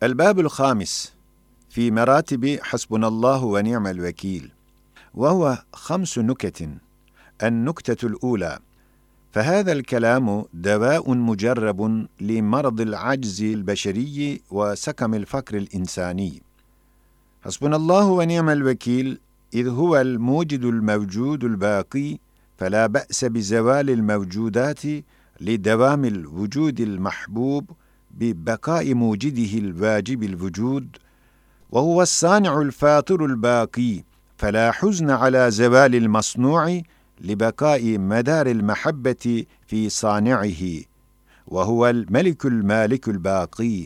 الباب الخامس في مراتب حسبنا الله ونعم الوكيل، وهو 5 نكت. النكتة الأولى: فهذا الكلام دواء مجرب لمرض العجز البشري وسقم الفقر الإنساني. حسبنا الله ونعم الوكيل إذ هو الموجد الموجود الباقي، فلا بأس بزوال الموجودات لدوام الوجود المحبوب ببقاء موجده الواجب الوجود، وهو الصانع الفاطر الباقي، فلا حزن على زوال المصنوع لبقاء مدار المحبة في صانعه، وهو الملك المالك الباقي،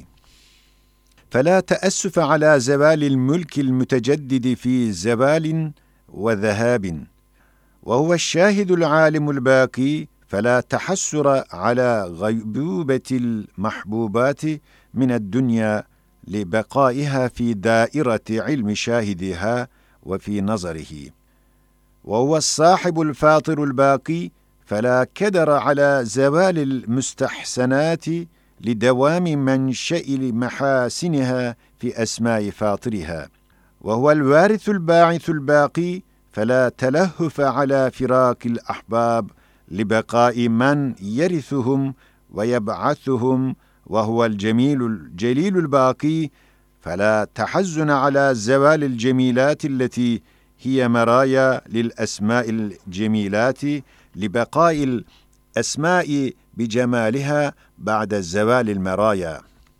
فلا تأسف على زوال الملك المتجدد في زوال وذهاب، وهو الشاهد العالم الباقي، فلا تحسر على غيبوبة المحبوبات من الدنيا لبقائها في دائرة علم شاهدها وفي نظره، وهو الصاحب الفاطر الباقي، فلا كدر على زوال المستحسنات لدوام منشأ محاسنها في أسماء فاطرها، وهو الوارث الباعث الباقي، فلا تلهف على فراق الأحباب لبقاء من يرثهم ويبعثهم، وهو الجليل الباقي، فلا تحزن على زوال الجميلات التي هي مرايا للأسماء الجميلات لبقاء الأسماء بجمالها بعد زوال المرايا،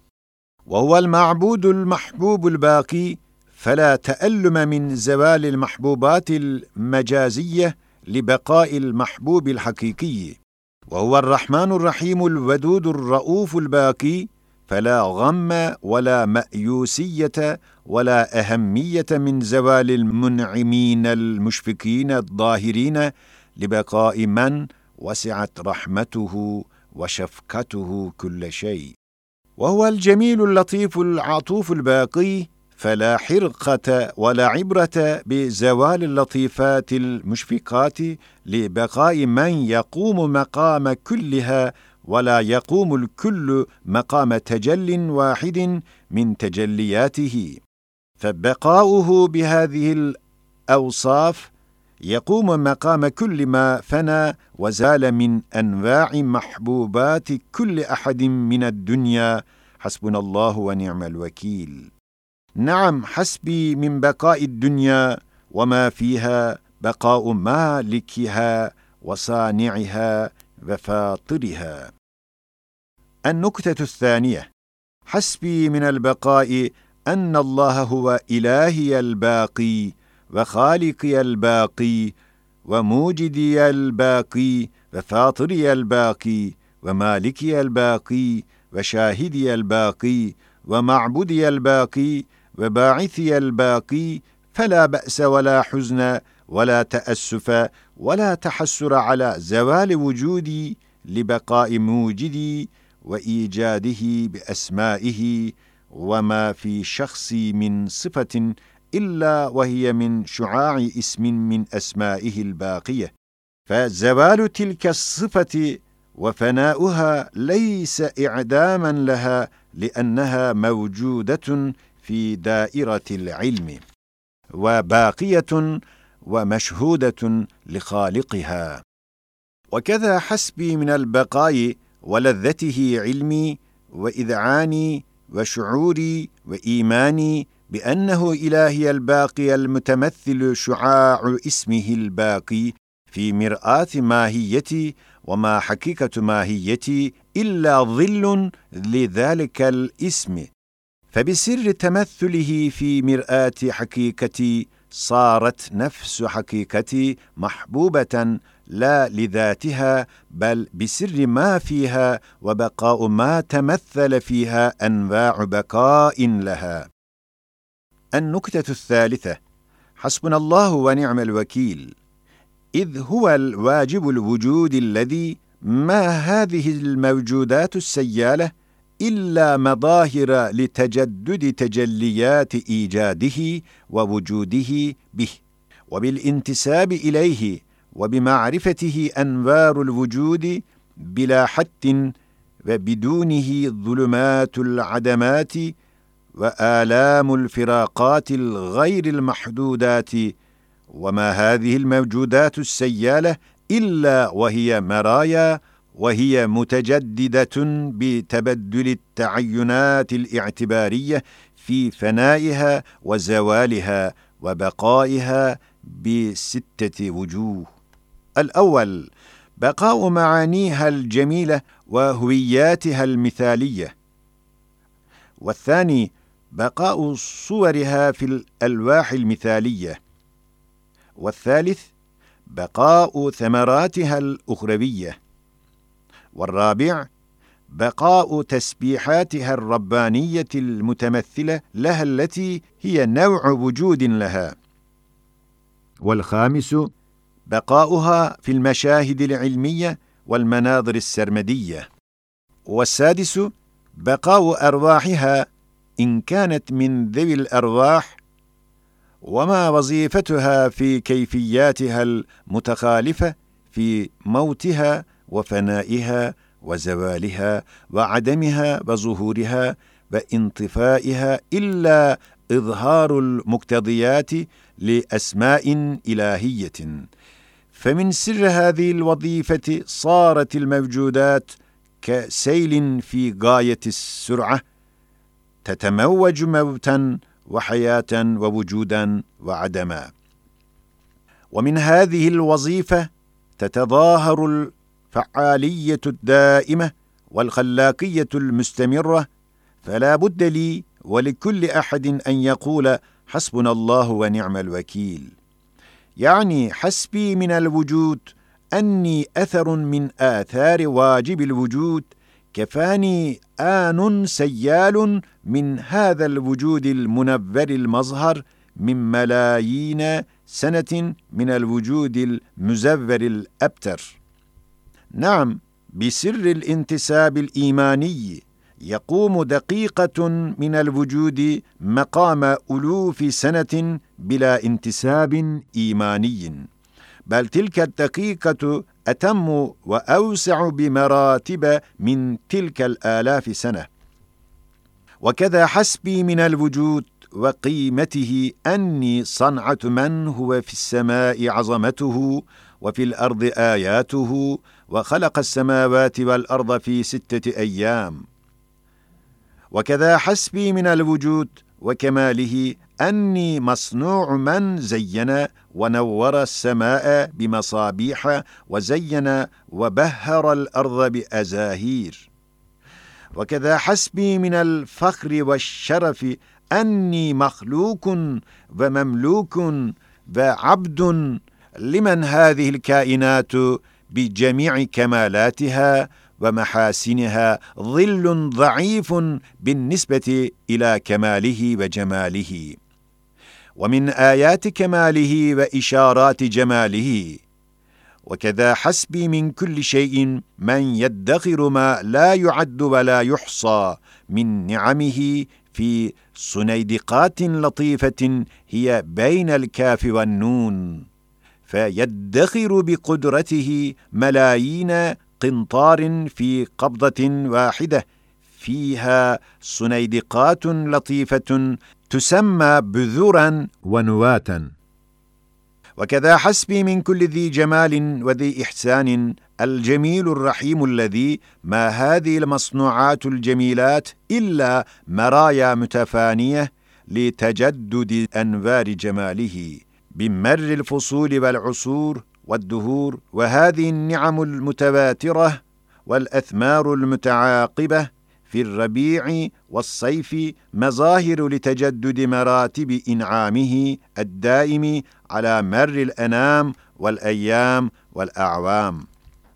وهو المعبود المحبوب الباقي، فلا تألم من زوال المحبوبات المجازية لبقاء المحبوب الحقيقي، وهو الرحمن الرحيم الودود الرؤوف الباقي، فلا غم ولا مأيوسية ولا أهمية من زوال المنعمين المشفقين الظاهرين لبقاء من وسعت رحمته وشفقته كل شيء، وهو الجميل اللطيف العطوف الباقي، فلا حرقة ولا عبرة بزوال اللطيفات المشفقات لبقاء من يقوم مقام كلها، ولا يقوم الكل مقام تجل واحد من تجلياته، فبقاؤه بهذه الأوصاف يقوم مقام كل ما فنى وزال من أنواع محبوبات كل أحد من الدنيا. حسبنا الله ونعم الوكيل. نعم، حسبي من بقاء الدنيا وما فيها بقاء مالكها وصانعها وفاطرها. النكتة الثانية: حسبي من البقاء أن الله هو إلهي الباقي وخالقي الباقي وموجدي الباقي وفاطري الباقي ومالكي الباقي وشاهدي الباقي ومعبودي الباقي وباعثي الباقي، فلا بأس ولا حزن ولا تأسف ولا تحسر على زوال وجودي لبقاء موجدي وإيجاده بأسمائه وما في شخصي من صفة إلا وهي من شعاع اسم من أسمائه الباقية، فزوال تلك الصفة وفناؤها ليس إعداما لها، لأنها موجودة في دائرة العلم وباقية ومشهودة لخالقها. وكذا حسبي من البقاء ولذته علمي وإذعاني وشعوري وإيماني بأنه إلهي الباقي المتمثل شعاع اسمه الباقي في مرآة ماهيتي، وما حقيقة ماهيتي إلا ظل لذلك الاسم، فبسر تمثله في مرآة حقيقتي صارت نفس حقيقتي محبوبة لا لذاتها، بل بسر ما فيها وبقاء ما تمثل فيها أنواع بقاء لها. النكتة الثالثة: حسبنا الله ونعم الوكيل إذ هو الواجب الوجود الذي ما هذه الموجودات السيالة إلا مظاهر لتجدد تجليات إيجاده ووجوده به، وبالانتساب إليه وبمعرفته أنوار الوجود بلا حد، وبدونه ظلمات العدمات وآلام الفراقات الغير المحدودات، وما هذه الموجودات السيالة إلا وهي مرايا، وهي متجددة بتبدل التعينات الاعتبارية في فنائها وزوالها وبقائها بستة وجوه. الأول بقاء معانيها الجميلة وهوياتها المثالية، والثاني بقاء صورها في الألواح المثالية، والثالث بقاء ثمراتها الأخروية، والرابع بقاء تسبيحاتها الربانية المتمثلة لها التي هي نوع وجود لها، والخامس بقاؤها في المشاهد العلمية والمناظر السرمدية، والسادس بقاء أرواحها إن كانت من ذوي الأرواح، وما وظيفتها في كيفياتها المتخالفة في موتها وفنائها وزوالها وعدمها وظهورها وانطفائها إلا إظهار المقتضيات لأسماء إلهية. فمن سر هذه الوظيفة صارت الموجودات كسيل في غاية السرعة، تتموج موتا وحياة ووجودا وعدما. ومن هذه الوظيفة تتظاهر الفعالية الدائمة والخلاقية المستمرة، فلا بد لي ولكل أحد أن يقول حسبنا الله ونعم الوكيل، يعني حسبي من الوجود أني أثر من آثار واجب الوجود، كفاني آن سيال من هذا الوجود المنور المظهر من ملايين سنة من الوجود المزور الأبتر. نعم، بسر الانتساب الإيماني يقوم دقيقة من الوجود مقام ألوف سنة بلا انتساب إيماني، بل تلك الدقيقة أتم وأوسع بمراتب من تلك الآلاف سنة. وكذا حسبي من الوجود وقيمته أني صنعة من هو في السماء عظمته وفي الأرض آياته، وخلق السماوات والأرض في 6 أيام. وكذا حسبي من الوجود وكماله أني مصنوع من زين ونور السماء بمصابيح وزين وبهر الأرض بأزاهير. وكذا حسبي من الفخر والشرف أني مخلوق ومملوك وعبد لمن هذه الكائنات بجميع كمالاتها ومحاسنها ظل ضعيف بالنسبة إلى كماله وجماله. ومن آيات كماله وإشارات جماله. وكذا حسبي من كل شيء من يدخر ما لا يعد ولا يحصى من نعمه في صنيدقات لطيفة هي بين الكاف والنون، فيدخر بقدرته ملايين قنطار في قبضة واحدة، فيها صنيدقات لطيفة تسمى بذورا ونواتا. وكذا حسبي من كل ذي جمال وذي إحسان الجميل الرحيم الذي ما هذه المصنوعات الجميلات إلا مرايا متفانية لتجدد أنوار جماله بمر الفصول والعصور والدهور، وهذه النعم المتواترة والأثمار المتعاقبة في الربيع والصيف مظاهر لتجدد مراتب إنعامه الدائم على مر الأنام والأيام والأعوام.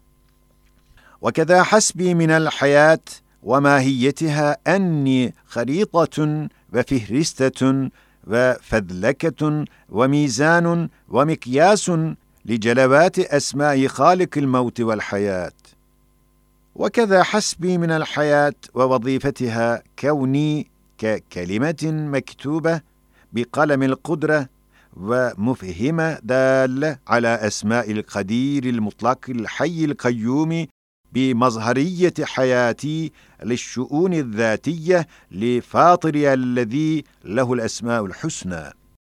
وكذا حسبي من الحياة وماهيتها أني خريطة وفهرستة وفذلكة وميزان ومقياس لجلوات أسماء خالق الموت والحياة. وكذا حسبي من الحياة ووظيفتها كوني ككلمة مكتوبة بقلم القدرة ومفهمة دالة على أسماء القدير المطلق الحي القيوم بمظهرية حياتي للشؤون الذاتية لفاطري الذي له الأسماء الحسنى.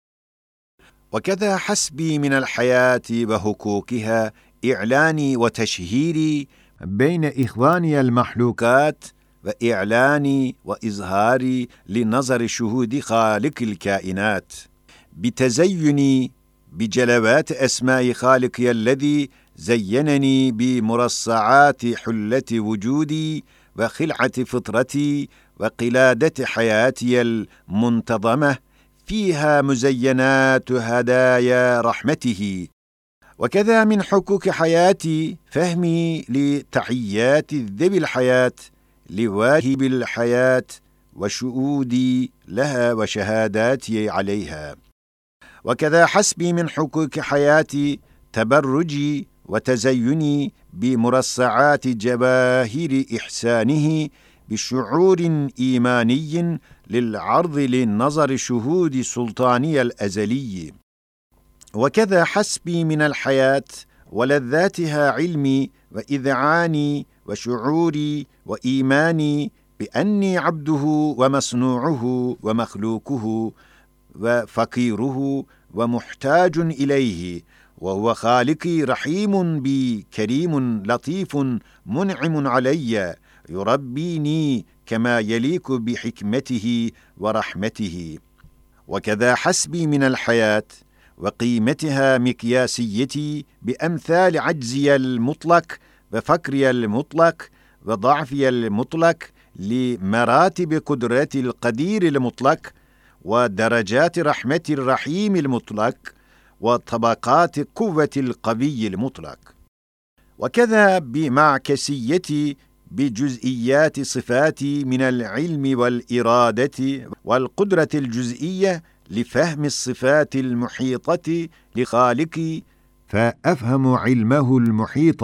وكذا حسبي من الحياة وحقوقها إعلاني وتشهيري بين إخواني المخلوقات، وإعلاني وإظهاري لنظر شهود خالق الكائنات، بتزيني بجلوات أسماء خالقي الذي زينني بمرصعات حلة وجودي وخلعة فطرتي وقلادة حياتي المنتظمة فيها مزينات هدايا رحمته. وكذا من حقوق حياتي فهمي لتحيات ذوي الحياة لواهب الحياة وشهودي لها وشهاداتي عليها. وكذا حسبي من حقوق حياتي تبرجي وتزيني بمرصعات جواهر إحسانه بشعور إيماني للعرض للنظر شهود سلطاني الأزلي. وكذا حسبي من الحياة ولذاتها علمي وإذعاني وشعوري وإيماني بأني عبده ومصنوعه ومخلوقه وفقيره ومحتاج إليه، وهو خالقي رحيم بي كريم لطيف منعم علي يربيني كما يليق بحكمته ورحمته. وكذا حسبي من الحياة وقيمتها مقياسيتي بأمثال عجزي المطلق وفقري المطلق وضعفي المطلق لمراتب قدرة القدير المطلق ودرجات رحمة الرحيم المطلق وطبقات قوة القوي المطلق. وكذا بمعكسيتي بجزئيات صفاتي من العلم والإرادة والقدرة الجزئية لفهم الصفات المحيطة لخالقي، فأفهم علمه المحيط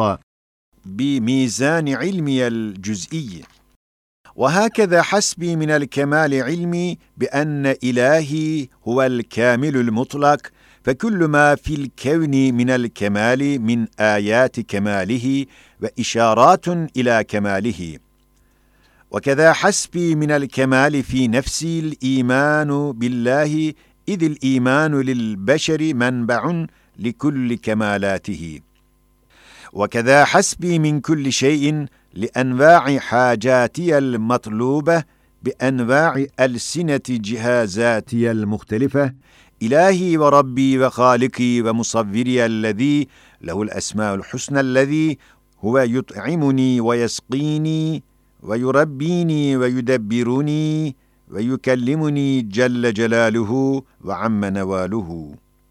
بميزان علمي الجزئي. وهكذا حسبي من الكمال علمي بأن إلهي هو الكامل المطلق، فكل ما في الكون من الكمال من آيات كماله وإشارات إلى كماله. وكذا حسبي من الكمال في نفسي الإيمان بالله، إذ الإيمان للبشر منبع لكل كمالاته. وكذا حسبي من كل شيء لأنواع حاجاتي المطلوبة بأنواع ألسنة جهازاتي المختلفة، إلهي وربي وخالقي ومصوري الذي له الأسماء الحسنى، الذي هو يطعمني ويسقيني ويربيني ويدبرني ويكلمني جل جلاله وعم نواله.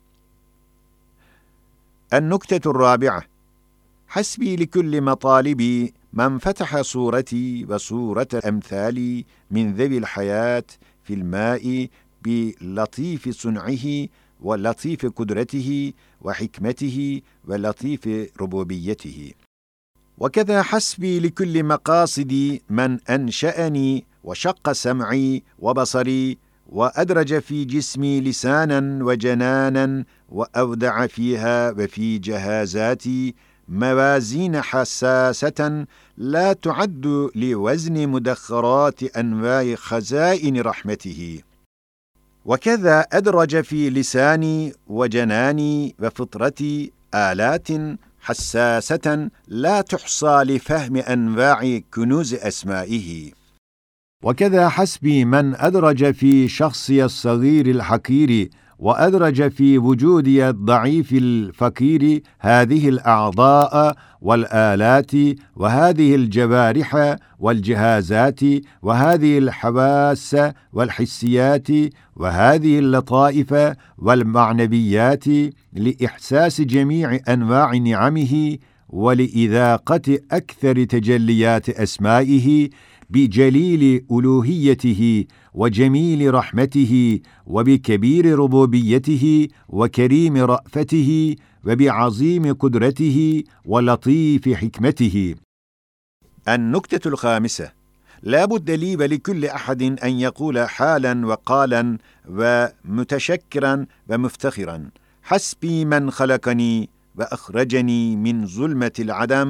النكتة الرابعة: حسبي لكل مطالبي من فتح صورتي وصورة أمثالي من ذوي الحياة في الماء بلطيف صنعه ولطيف قدرته وحكمته ولطيف ربوبيته. وكذا حسبي لكل مقاصدي من أنشأني وشق سمعي وبصري وأدرج في جسمي لسانا وجنانا وأودع فيها وفي جهازاتي موازين حساسة لا تعد لوزن مدخرات أنواع خزائن رحمته. وكذا أدرج في لساني وجناني وفطرتي آلات حساسة لا تحصى لفهم أنواع كنوز أسمائه. وكذا حسبي من أدرج في شخصي الصغير الحقير وأدرج في وجودي الضعيف الفقير هذه الأعضاء والآلات وهذه الجوارح والجهازات وهذه الحواس والحسيات وهذه اللطائف والمعنويات لإحساس جميع أنواع نعمه ولإذاقة أكثر تجليات أسمائه بجليل ألوهيته وجميل رحمته وبكبير ربوبيته وكريم رأفته وبعظيم قدرته ولطيف حكمته. النكتة الخامسة: لا بد لي ولكل أحد أن يقول حالا وقالا ومتشكرا ومفتخرا: حسبي من خلقني وأخرجني من ظلمة العدم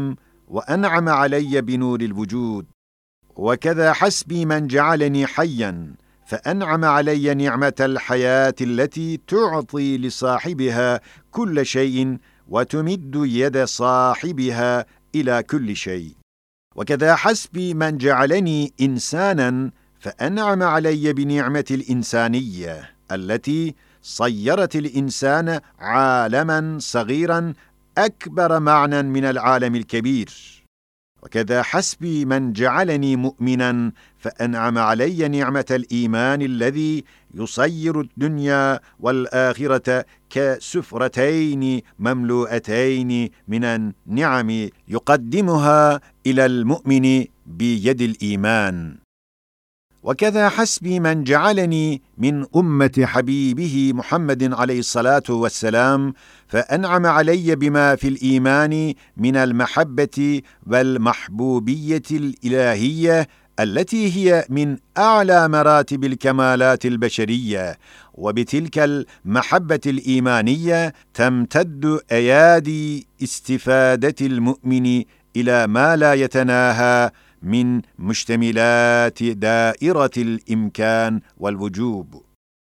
وأنعم علي بنور الوجود. وكذا حسبي من جعلني حيا فأنعم علي نعمة الحياة التي تعطي لصاحبها كل شيء وتمد يد صاحبها إلى كل شيء. وكذا حسبي من جعلني إنسانا فأنعم علي بنعمة الإنسانية التي صيرت الإنسان عالما صغيرا أكبر معنى من العالم الكبير. وكذا حسبي من جعلني مؤمنا فأنعم علي نعمة الإيمان الذي يصير الدنيا والآخرة كسفرتين مملوءتين من النعم يقدمها إلى المؤمن بيد الإيمان. وكذا حسبي من جعلني من أمة حبيبه محمد عليه الصلاة والسلام فأنعم علي بما في الإيمان من المحبة والمحبوبية الإلهية التي هي من أعلى مراتب الكمالات البشرية. وبتلك المحبة الإيمانية تمتد أيادي استفادة المؤمن إلى ما لا يتناهى من مشتملات دائرة الإمكان والوجوب.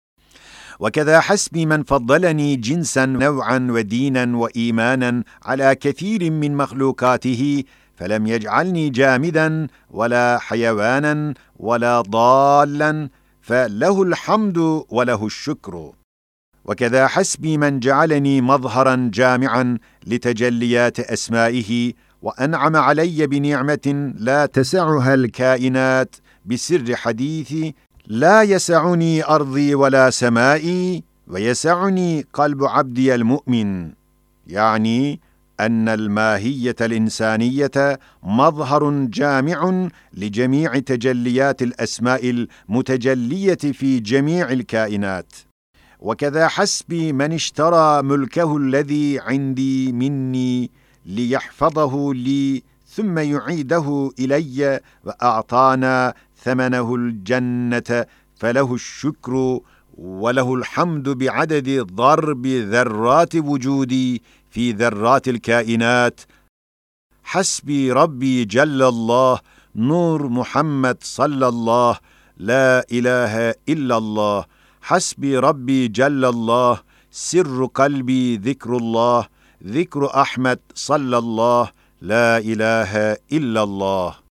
وكذا حسبي من فضلني جنسا نوعا ودينا وإيمانا على كثير من مخلوقاته فلم يجعلني جامدا ولا حيوانا ولا ضالا فله الحمد وله الشكر. وكذا حسبي من جعلني مظهرا جامعا لتجليات أسمائه وأنعم علي بنعمة لا تسعها الكائنات بسر حديثي: لا يسعني أرضي ولا سمائي ويسعني قلب عبدي المؤمن. يعني أن الماهية الإنسانية مظهر جامع لجميع تجليات الأسماء المتجلية في جميع الكائنات. وكذا حسبي من اشترى ملكه الذي عندي مني ليحفظه لي ثم يعيده إلي وأعطانا ثمنه الجنة فله الشكر وله الحمد بعدد ضرب ذرات وجودي في ذرات الكائنات. حسبي ربي جل الله نور محمد صلى الله لا إله إلا الله. حسبي ربي جل الله سر قلبي ذكر الله ذكر أحمد صلى الله لا إله إلا الله.